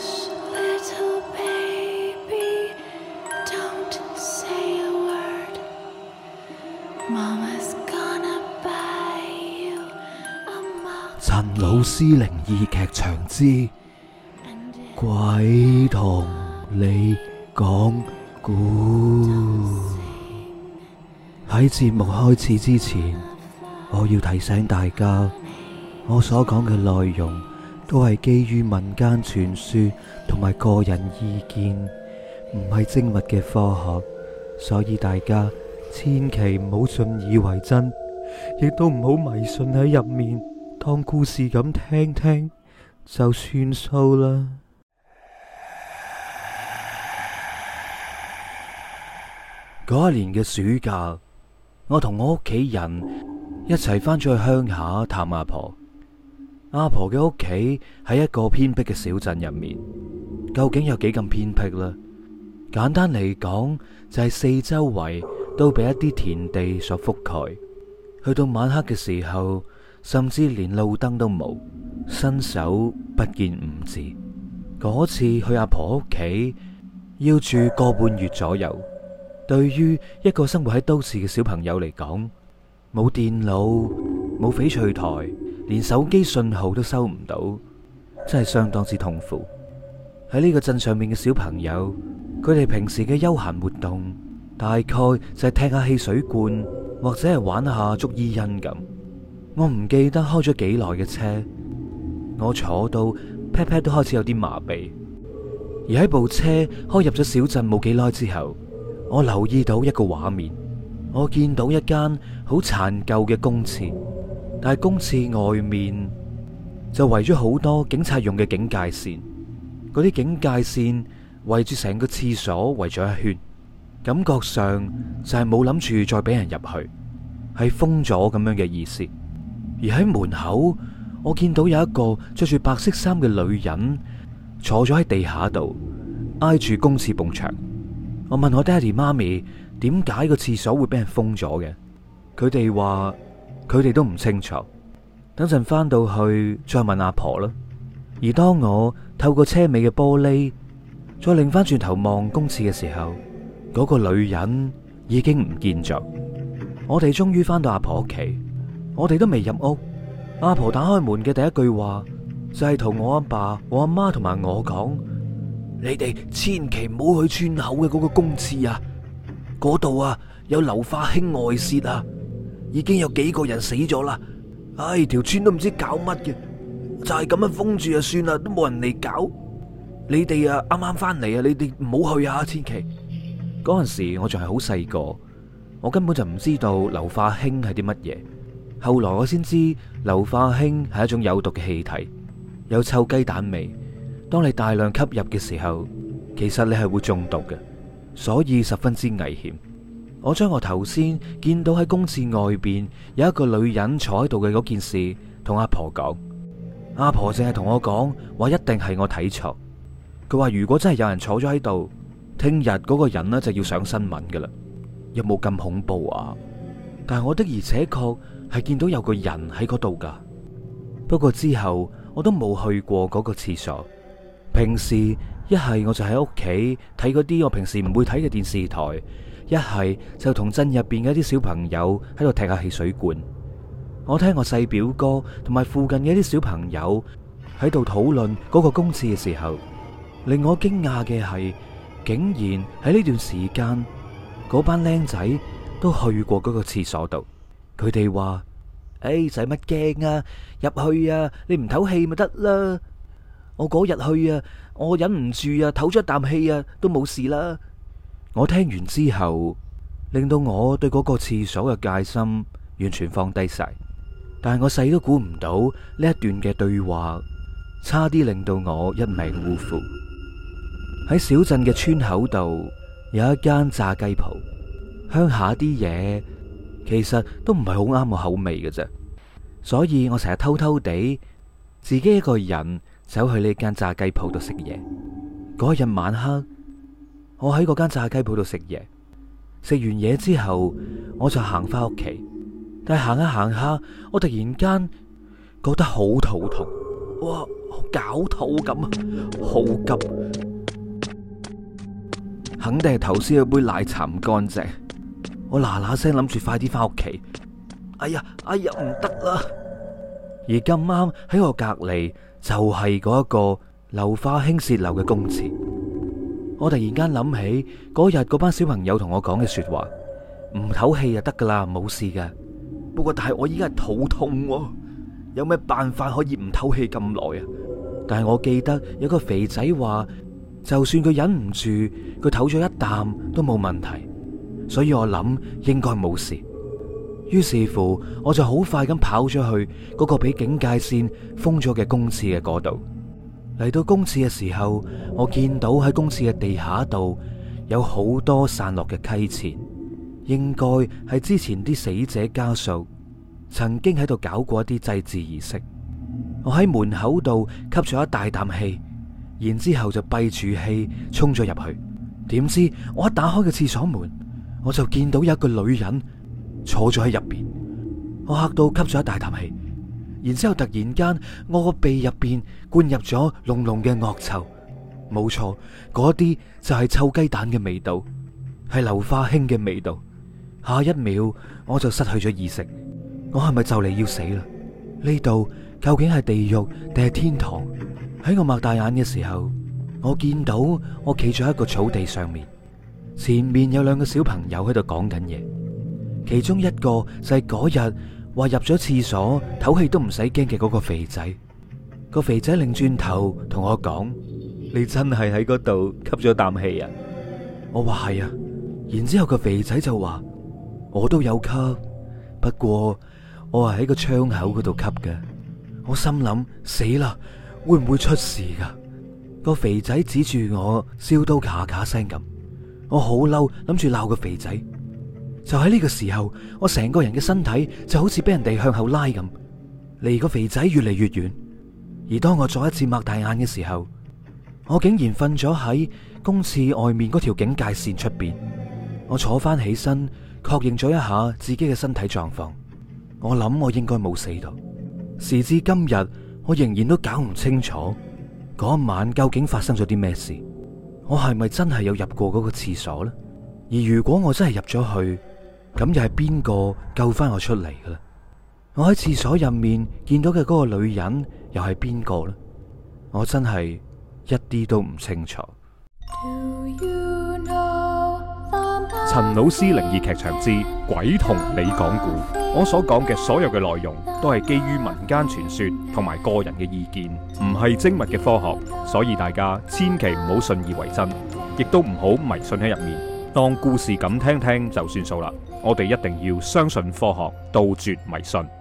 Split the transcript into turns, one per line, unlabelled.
陳老師靈異劇場之鬼同你講故。喺節目開始之前，我要提醒大家，我所講嘅內容都係基於民間傳說同埋個人意見，唔係精密嘅科學，所以大家千祈唔好信以為真，亦都唔好迷信喺入面，當故事咁聽聽就算數啦。嗰一年嘅暑假，我同我屋企人一齊翻咗去鄉下探阿婆。阿婆嘅屋企喺一個偏僻嘅小鎮入面，究竟有幾咁偏僻呢？簡單嚟講，就係四周圍都俾一啲田地所覆蓋。去到晚黑嘅時候，甚至連路燈都冇，伸手不見五指。嗰次去阿婆屋企，要住個半月左右。對於一個生活喺都市嘅小朋友嚟講，冇電腦，冇翡翠台，連手機信號都收唔到，真係相當之痛苦。喺呢個鎮上面嘅小朋友，佢哋平時嘅休閒活動大概就係踢下汽水罐，或者係玩下捉伊人咁。我唔記得開咗幾耐嘅車，我坐到屁屁都開始有啲麻痹。而喺部車開入咗小鎮冇幾耐之後，我留意到一個畫面，我見到一間好殘舊嘅公廁，但係公廁外面就圍咗好多警察用嘅警戒線，嗰啲警戒線圍住成個廁所圍咗一圈，感覺上就係冇諗住再俾人入去，係封咗咁樣嘅意思。而喺門口，我見到有一個着住白色衫嘅女人坐咗喺地下度，挨住公廁埲牆。我問我爹哋媽咪點解個廁所會俾人封咗嘅，佢哋話佢哋都唔清楚，等陣翻到去再問阿婆啦。而當我透過車尾嘅玻璃再擰翻轉頭望公廁嘅時候，嗰個女人已經唔見咗。我哋終於翻到阿婆屋企，我哋都未入屋，阿婆打開門嘅第一句話就係同我阿爸、我阿媽同埋我講：你哋千祈唔好去村口嘅嗰個公廁啊！嗰度啊有硫化氫外泄啊，已經有幾個人死咗啦！唉，條村都唔知搞乜嘅，就係咁樣封住就算啦，都冇人嚟搞。你哋啊啱啱翻嚟啊，你哋唔好去啊！千祈。嗰陣時我仲係好細個，我根本就唔知道硫化氫係啲乜嘢。後來我先知硫化氫係一種有毒嘅氣體，有臭雞蛋味。當你大量吸入嘅時候，其實你係會中毒嘅，所以十分之危險。我將我頭先見到喺公廁外邊有一個女人坐喺度嘅嗰件事同阿婆講，阿婆淨係同我講話一定係我睇錯。佢話如果真係有人坐咗喺度，聽日嗰個人呢就要上新聞噶啦。有冇咁恐怖啊？但係我的而且確係見到有個人喺嗰度噶。不過之後我都冇去過嗰個廁所。平時一係我就喺屋企睇嗰啲我平時唔會睇嘅電視台，一係就同鎮入邊嘅一啲小朋友喺度踢下汽水罐。我聽我細表哥同埋附近嘅一啲小朋友喺度討論嗰個公廁嘅時候，令我驚訝嘅係，竟然喺呢段時間嗰班僆仔都去過嗰個廁所度。佢哋話：使乜驚啊？入去啊，你唔唞氣咪得啦。我嗰日去啊，我忍唔住啊，唞咗一啖氣啊，都冇事啦。我聽完之後，令到我對嗰個廁所嘅戒心完全放低晒。但係我細都估唔到呢一段嘅對話，差啲令到我一命嗚呼。喺小鎮嘅村口度有一間炸雞鋪，鄉下啲嘢其實都唔係好啱我口味嘅啫，所以我成日偷偷地自己一個人走去呢間炸雞鋪度食嘢。嗰日晚黑，我喺嗰間炸雞鋪度食嘢，食完嘢之後，我就行翻屋企。但係行下行下，我突然間覺得好肚痛， 哇，好絞肚咁啊，好急，肯定係頭先有杯奶茶唔乾淨。我嗱嗱聲諗住快啲翻屋企。哎呀，唔得啦！而咁啱喺我隔籬就係嗰一個硫化氫洩漏嘅公廁。我突然間諗起嗰日嗰班小朋友同我講嘅說話，唔唞氣就得噶啦，冇事嘅。不過但係我依家係肚痛喎，有咩辦法可以唔唞氣咁耐啊？但係我記得有個肥仔話，就算佢忍唔住，佢唞咗一啖都冇問題，所以我諗應該冇事。於是乎，我就好快咁跑咗去嗰個俾警戒線封咗嘅公廁嘅嗰度。嚟到公廁嘅時候，我見到喺公廁嘅地下度有好多散落嘅溪錢，應該係之前啲死者家屬曾經喺度搞過一啲祭祀儀式。我喺門口度吸咗一大啖氣，然之後就閉住氣衝咗入去。點知我一打開個廁所門，我就見到有一個女人坐咗喺入邊。我嚇到吸咗一大啖氣，然之後突然間我個鼻入邊灌入咗濃濃嘅惡臭。冇錯，嗰啲就係臭雞蛋嘅味道，係硫化氫嘅味道。下一秒我就失去咗意識。我係咪就嚟要死啦？呢度究竟係地獄定係天堂？喺我擘大眼嘅時候，我見到我企咗喺一個草地上面，前面有兩個小朋友喺度講緊嘢。其中一個就係嗰日話入咗廁所唞氣都唔使驚嘅嗰個肥仔。個肥仔擰轉頭同我講：你真係喺嗰度吸咗啖氣啊？我話係啊。然之後個肥仔就話：我都有吸，不過我係喺個窗口嗰度吸嘅。我心諗死啦，會唔會出事噶？個肥仔指住我，笑到咔咔聲咁。我好嬲，諗住鬧個肥仔。就喺呢個時候，我成個人嘅身體就好似俾人哋向後拉咁，離個肥仔越嚟越遠。而當我再一次擘大眼嘅時候，我竟然瞓咗喺公廁外面嗰條警戒線出邊。我坐翻起身，確認咗一下自己嘅身體狀況。我諗我應該冇死到。時至今日，我仍然都搞唔清楚嗰晚究竟發生咗啲咩事。我係咪真係有入過嗰個廁所呢？而如果我真係入咗去，咁又係邊個救翻我出嚟嘅咧？我喺廁所入面見到嘅嗰個女人又係邊個呢？我真係一啲都唔清楚。
陳老師靈異劇場之鬼同你講故，我所講嘅所有嘅內容都係基於民間傳說同埋個人嘅意見，唔係精密嘅科學，所以大家千祈唔好信以為真，亦都唔好迷信喺入面，當故事咁聽聽就算數啦。我哋一定要相信科學，杜絕迷信。